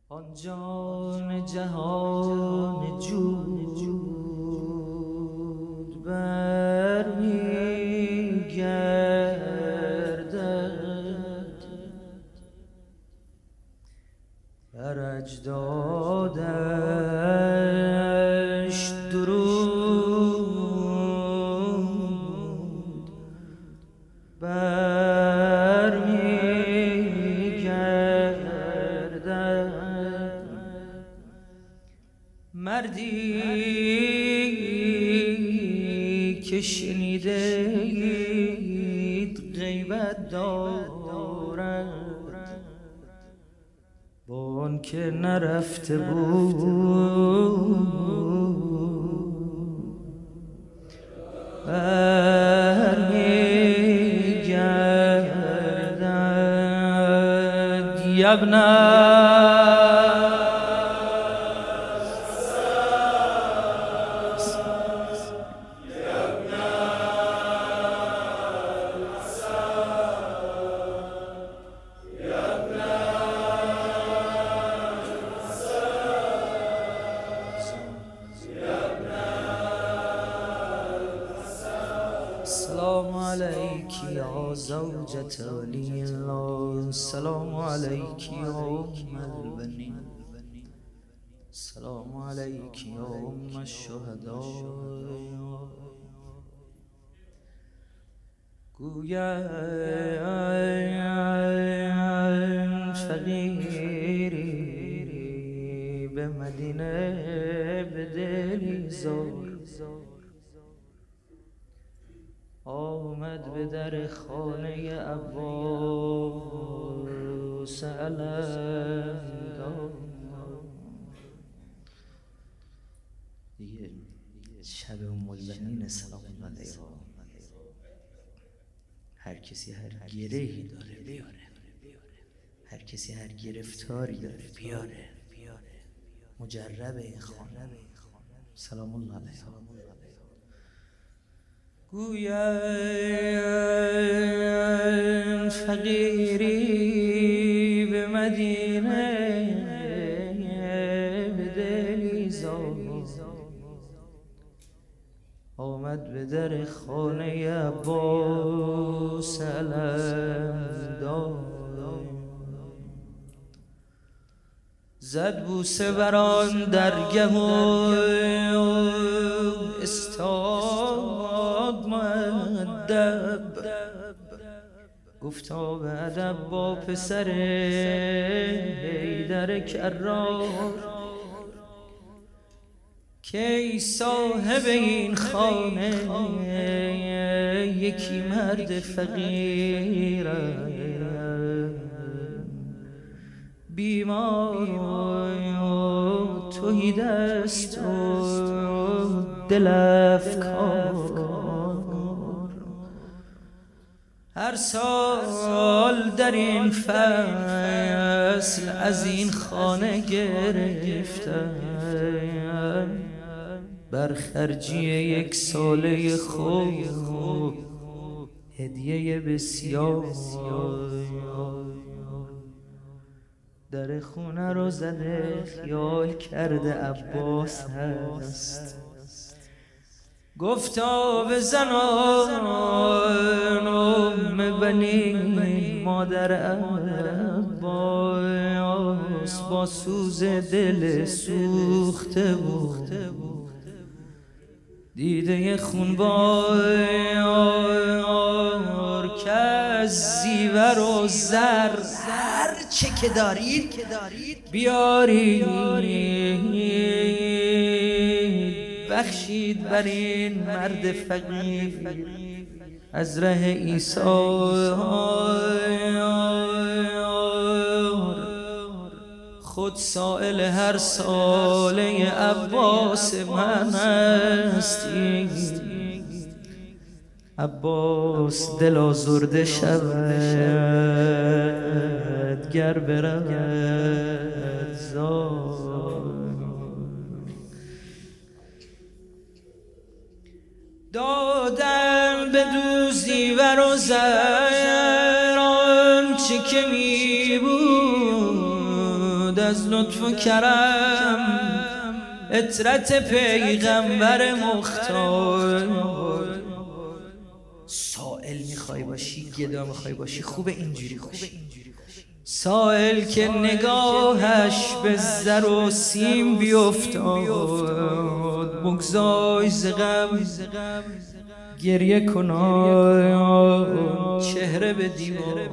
آن جان جهان جود برمیگردد بر اجدادش درود برمیگردد. مردی که شنیدید غیبت دارد، با آن که نرفته بود برمیگردد. یبنه السلام عليك يا زوجة ولي الله، السلام عليك يا أم البنين، السلام عليك يا أم الشهداء. گویند فقیری به مدینه به دلی زار، آمد به در خانه عباس علمدار. دیگه شب ام البنین سلام الله علیها، هر کسی هر گرهی داره بیاره، هر کسی هر گرفتاری داره بیاره، مجرب این خانه سلام الله علیها. گویند فقیری به مدینه به دلی زار، آمد به در خانه عباس علمدار. زد بوسه بر آن درگه و استاد مؤدب، گفتا به ادب با پسر حیدر کرار، که ای صاحب این خانه یکی مرد فقیر بیمار و توهی دست و دل افکار، هر سال در این فصل از این خانه گرفتم بر خرجی یک ساله خوب هدیه بسیار. در خونه رو زده خیال کرده عباس هست، گفتا به زنان ام بنین مادر عباس با سوز دل سوخته بود، دیده خونبار که از زیور و زر هر چه که دارید بیارید بخشید بر این مرد فقیر از ره عیسی. خود سائل هر ساله عباس من هستی، عباس دل آزرده شود گر برود زار. دادم به دوزی و روزر آنچه که می بود بود از لطف و کرم، عطرت پیغمبر مختار. سائل میخوای باشی، گدا میخوای باشی، خوب اینجوری باشی. سائل که نگاهش به زر و سیم بیفتاد، بگذای ز غم گریه کنان چهره به دیوار.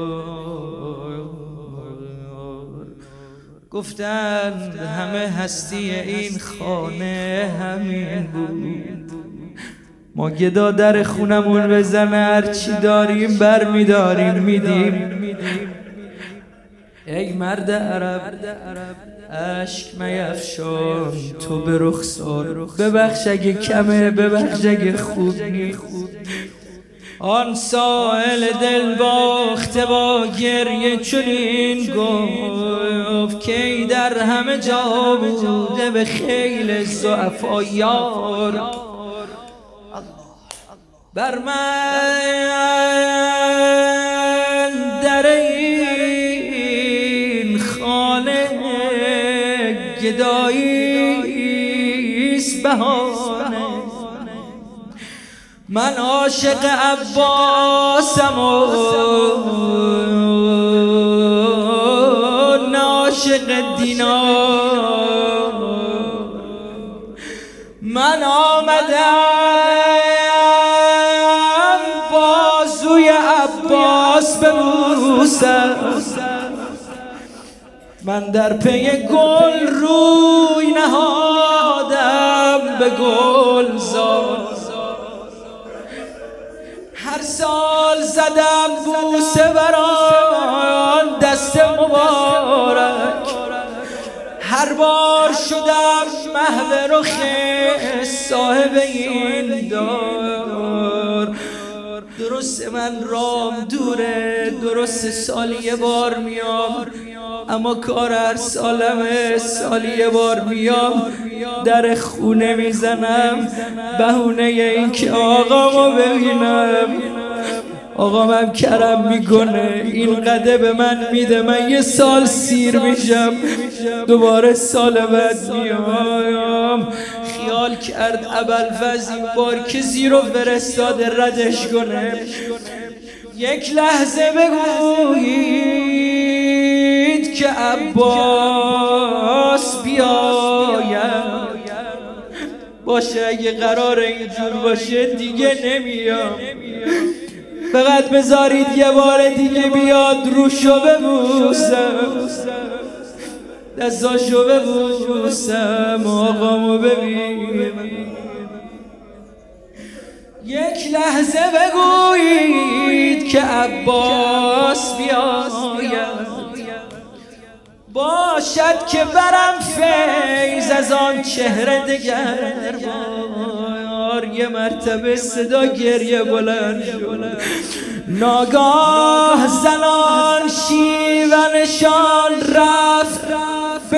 گفتند همه هستی این خانه همین بود، ما گدا در خونمون بزنه هرچی داریم بر میداریم میدیم. ای مرد عرب اشک میفشان تو به رخسار، ببخش اگه کمه ببخش اگه خوب نیست. آن سائل دل باخته با گریه چنین گفت که ای در همه جا بوده به خیل ضعفا یار. بر من در این خانه گداییست بهانه، من عاشق عباسم و نه عاشق دینار. من آمدم بازوی عباس ببوسم، من در پی گل روی نهادم به گلزار. هر سال زدم بوسه بران دست مبارک، هر بار شدم محو رخ صاحب این دار. درست من رام دوره، درست سالی یه بار میام، اما کار هر سالمه، سالی یه بار میام در خونه میزنم بهونه این که آقامو ببینم. آقام هم کرم میکنه، این قده به من میده، من یه سال سیر میشم دوباره سال بعد میام. خیال کرد ابوالفضل این بار که زیرو فرستاده ردش کنه. یک لحظه بگویید که عباس بیاید، باشه اگه قرار اینجور باشه دیگه نمیام، فقط بذارید یه بار دیگه بیاد روشو ببوسم، دستاشو ببوسم، آقامو ببین. یک لحظه بگویید که عباس بیاید، باشد که برم فیض از آن چهره دگر بار. یه مرتبه صدا گریه بلند شد، ناگاه زنان شیونشان رفت به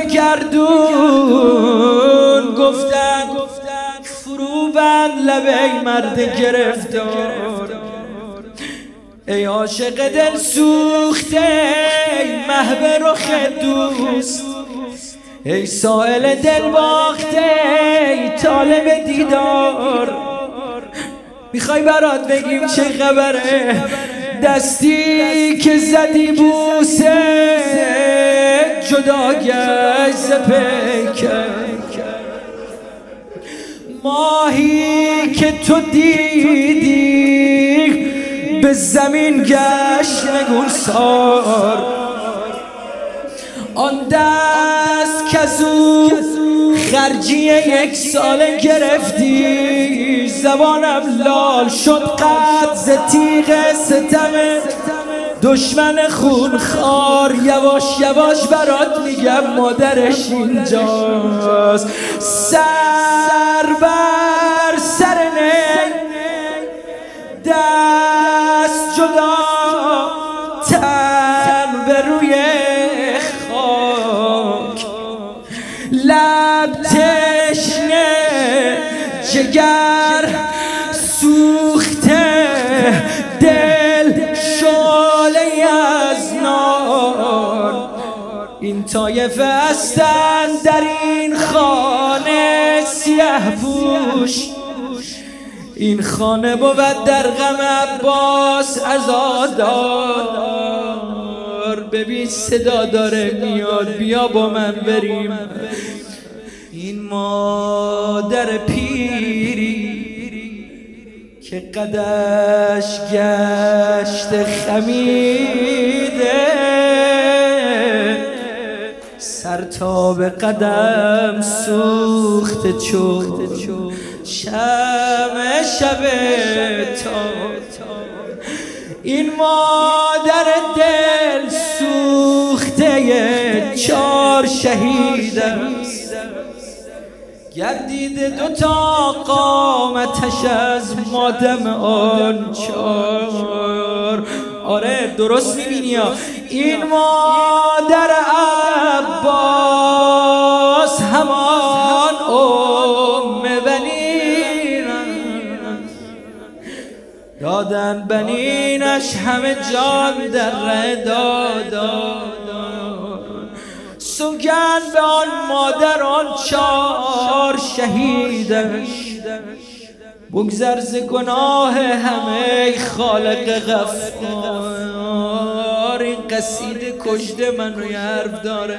گردون، گفتن فرو بند لب ای مرد گرفتار. ای عاشق دل سوخته، ای محو رخ دوست، ای سائل دل باخته، ای طالب دیدار. میخوای برات بگیم چه خبره؟ دستی که زدی بوسه جدا گشت ز پیکر، ماهی که تو دیدی به زمین گشت نگونسار. آن دست که زو خرجی یک ساله گرفتی، زبانم لال شد قد ز تیغ ستم دشمن خونخوار. یواش یواش برات میگم مادرش اینجاست، سر بر سر نه، دست جدا، تن به روی خاک، لب تشنه، جگر سوخته، دل شعله از نار. این طایفه هستن در این خانه سیه پوش، این خانه بود در غم عباس عزادار. ببین صدا داره میاد، بیا با من بریم. این مادر پیری که قدش گشت خمیده، سر تا به قدم سوخته چون شمع شب تا. این مادر دل سوخته 4 شهید است، گردیده 2 تا قامتش از مادم آن 4. آره درست میبینی این مادر عباس همان بنین دادن، بنینش همه جان در ره دادن. سوگند به آن مادر آن 4 شهیدش، بگذر ز گناه همه خالق غفار. این قصیده کشته منو یه حرف داره،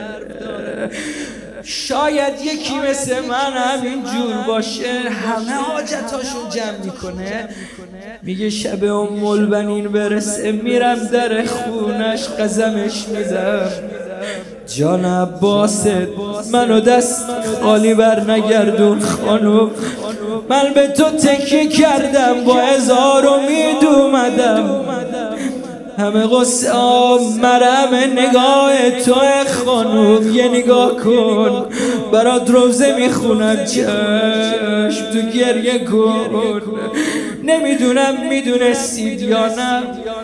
شاید یکی مثل من همین جور باشه، همه حاجتاشو جمع میکنه، میگه شب البنین برسه میرم در خونش قسمش میدم جان عباست منو دست خالی بر نگردون خانم، من به تو تکیه کردم با 1000 امید اومدم، همه قصه مرم نگاه تو خانم. یه نگاه کن برات روزه میخونم، چشم تو گریه کن. نمیدونم میدونستید یا نه.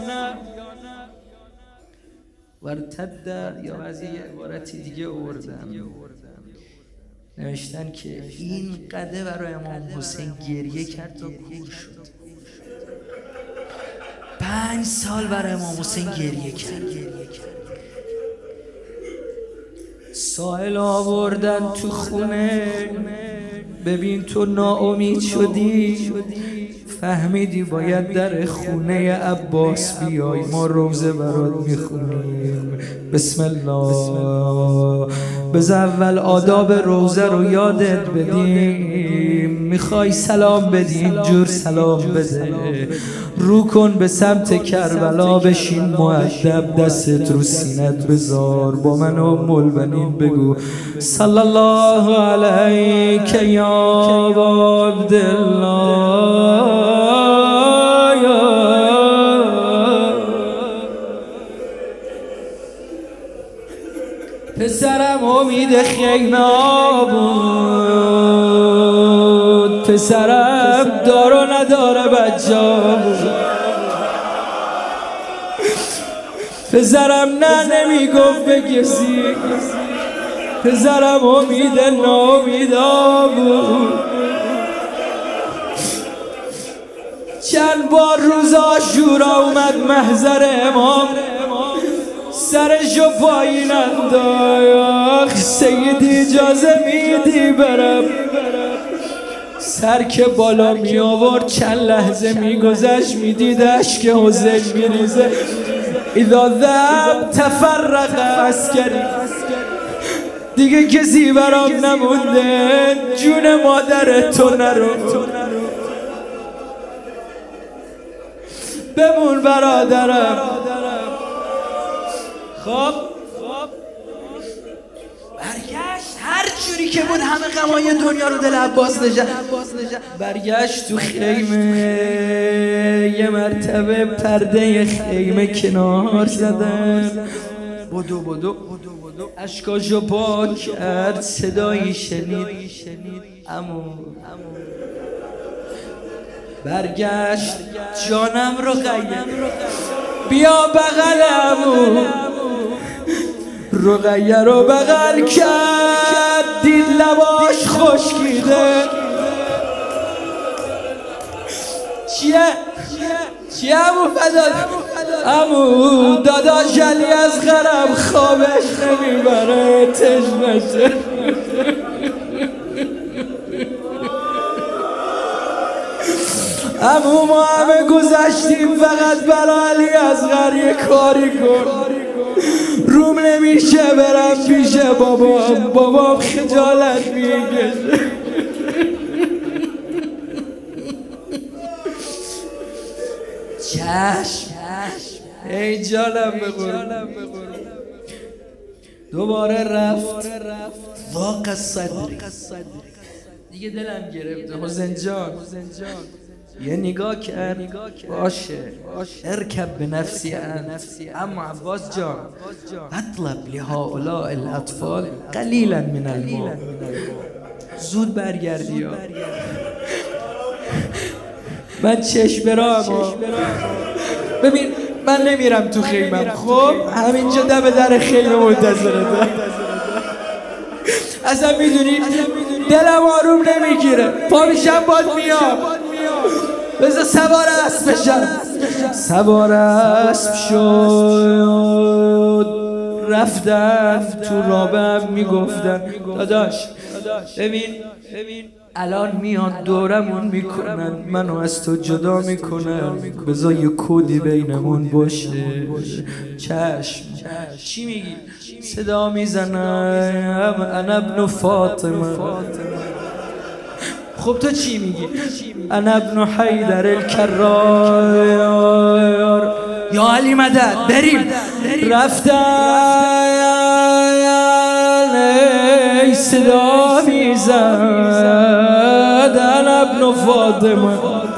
ورتد یا از یه عبارتی دیگه آوردم، نوشتن که این قده برای امام حسین گریه کرد تا کور شد. 5 سال برای امام حسین گریه کرد. سائل آوردن تو خونه، ببین تو ناامید شدی، فهمیدی باید در خونه عباس بیای، ما روزه برات میخونیم. بسم الله. بذار اول آداب روزه رو یادت بدیم. میخوای سلام بدی اینجور سلام بده، رو کن به سمت کربلا، بشین مؤدب، دستت رو سینت بذار، با من البنین بگو صلی الله علیک یا عبدالله. پسرم امید خیمه بود، پسرم دار و نداره بچه بود، پسرم نه نمیگفت به کسی، پسرم امید ناامیدا بود. چند بار روز عاشورا اومد محضر امام، سرشو پایین انداخت، سیدی اجازه میدی برم؟ سر که بالا می آورد چند لحظه میگذشت، میدید اشک حسین میریزه. اذا ذهب تفرق عسکری، دیگه کسی برام نمونده، جون مادر تو نرو، بمون برادرم. خب برگشت هر جوری که بود، همه غمای دنیا رو دل عباس نشد. برگشت تو خیمه، یه مرتبه پرده خیمه کنار زدن، بدو اشکاشو پاک کرد، صدایی شنید عمو. برگشت جانم رو غیر، بیا بغلمو، رقیه رو بغل کرد، دید لباش خشکیده. چیه ابو فضل؟ عمو داداش علی از غرب خوابش نمیبره تشنشه. عمو ما همه گذشتیم فقط برای علی اصغر یه کاری کن. روم نمیشه برم پیش بابام خجالت میکشه. چشم ای جانم بقرم. دوباره رفت واقع صدری دیگه دلم گرفته. حسین جان یه نگاه کرد باشه ارکب به نفسی اما عباس جان اطلب لهؤلاء الاطفال قلیلا من الماء. زود برگردی یا من چشم برام. ببین من نمیرم تو خیمم، خب همینجا دم در خیمه منتظرته. اصلا میدونی دلم آروم نمیگیره، پا میشم باد میام. بذار سوار اسب بشم. سوار اسب شد رفتم تو رابم میگفتن داداش ببین الان میان دورمون میکنن، منو از تو جدا میکنن، بذار یه کودی بینمون باشه. چشم چی میگی؟ صدا میزنم انا ابن فاطمه. خب تو چی میگی؟ انا ابن حیدر الکرار. یا علی مدد بریم. رفتن ای صدا میزد انا ابن فاطمه.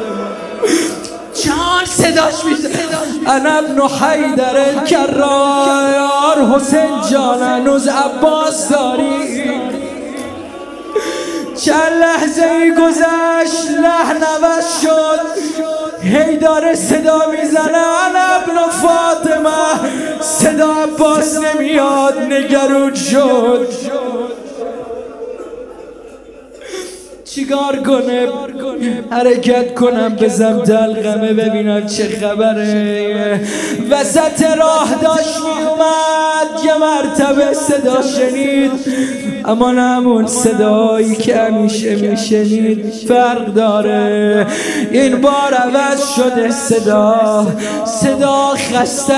جان صداش میزد انا ابن حیدر الکرار. حسین جان هنوز عباس داری؟ چند لحظه ای گذشت لحن عوض شد. هی داره صدا میزنه انا ابن فاطمه. صدا عباس نمیاد، نگران شد چیکار کنه؟ حرکت کنم بزم دلقمه ببینم چه خبره. وسط راه داشت میومد، یه مرتبه صدا شنید، اما نه همون صدایی که همیشه میشنید، فرق داره. این بار عوض شده صدا خسته،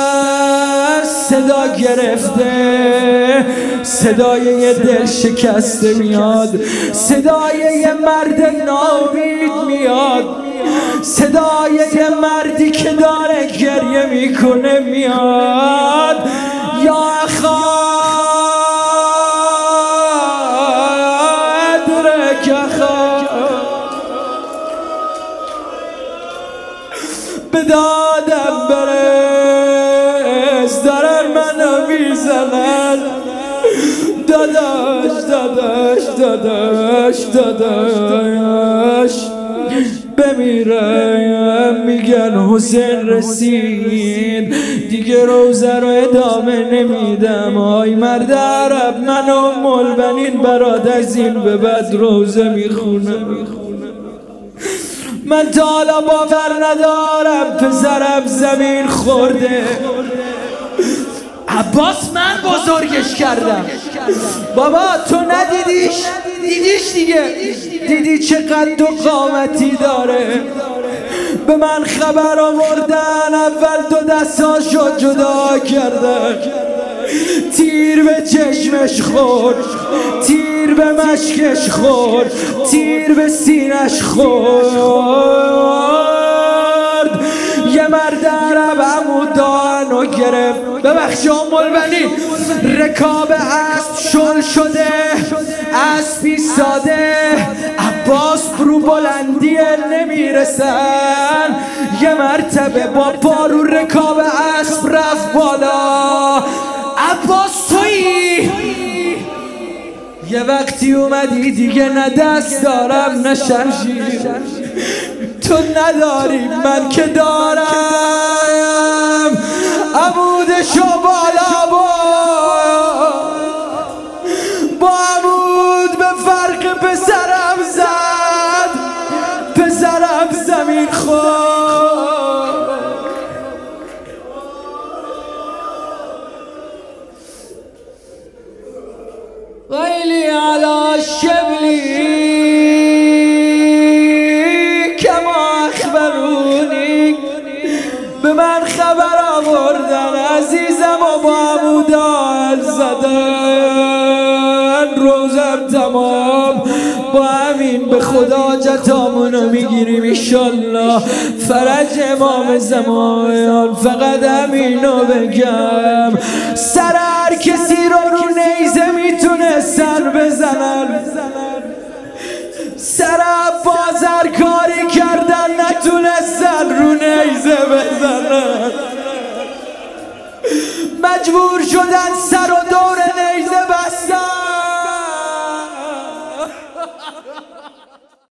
صدا گرفته، صدای یه دل شکسته میاد، صدای یه مرد ناامید میاد، صدای یه مردی که داره گریه میکنه میاد. یا اخا ادرک اخا، به دادم برس، دارن منو میزنن. داداش داداش داداش داداش بمیرم. میگن حسین رسید دیگه روزه رو ادامه نمیدم. آی مرد عرب من ام البنین برات از این به بعد روزه میخونم. من تا حالا باور ندارم پسرم زمین خورده. عباس من بزرگش کردم. بابا تو ندیدیش؟ دیدیش دیگه، دیدی چقدر و قامتی داره. به من خبر آوردن، اول دو دستاشو جدا کردن، تیر به چشمش خورد، تیر به مشکش خورد، تیر به سینش خورد. یه مرد عرب عمودانو گرفت، ببخشی ام البنین، رکاب اسب شل شده، اسب ایستاده، عباس برو بلندی نمیرسن. یه مرتبه با پارو رکاب اسب رفت بالا. عباس تویی؟ یه وقتی اومدی دیگه نه دست دارم نه شمشیر، تو نداری من که دارم. عمودشو بالا با عمود به فرق پسرم زد، پسرم زمین خورد. ويلي على الشبلی کما اخبرونی، به من خبر آوردن عزیزم و با عمودال زدن، روزم تمام با همین به خدا جتامونو میگیریم ایشالله، فرج امام زمان. فقط همینو بگم، سر هر کسی رو نیزه میتونه سر بزنن، سر بازر کاری کردن نتونستن رو نیزه بزنن، مجبور شدن سر و دور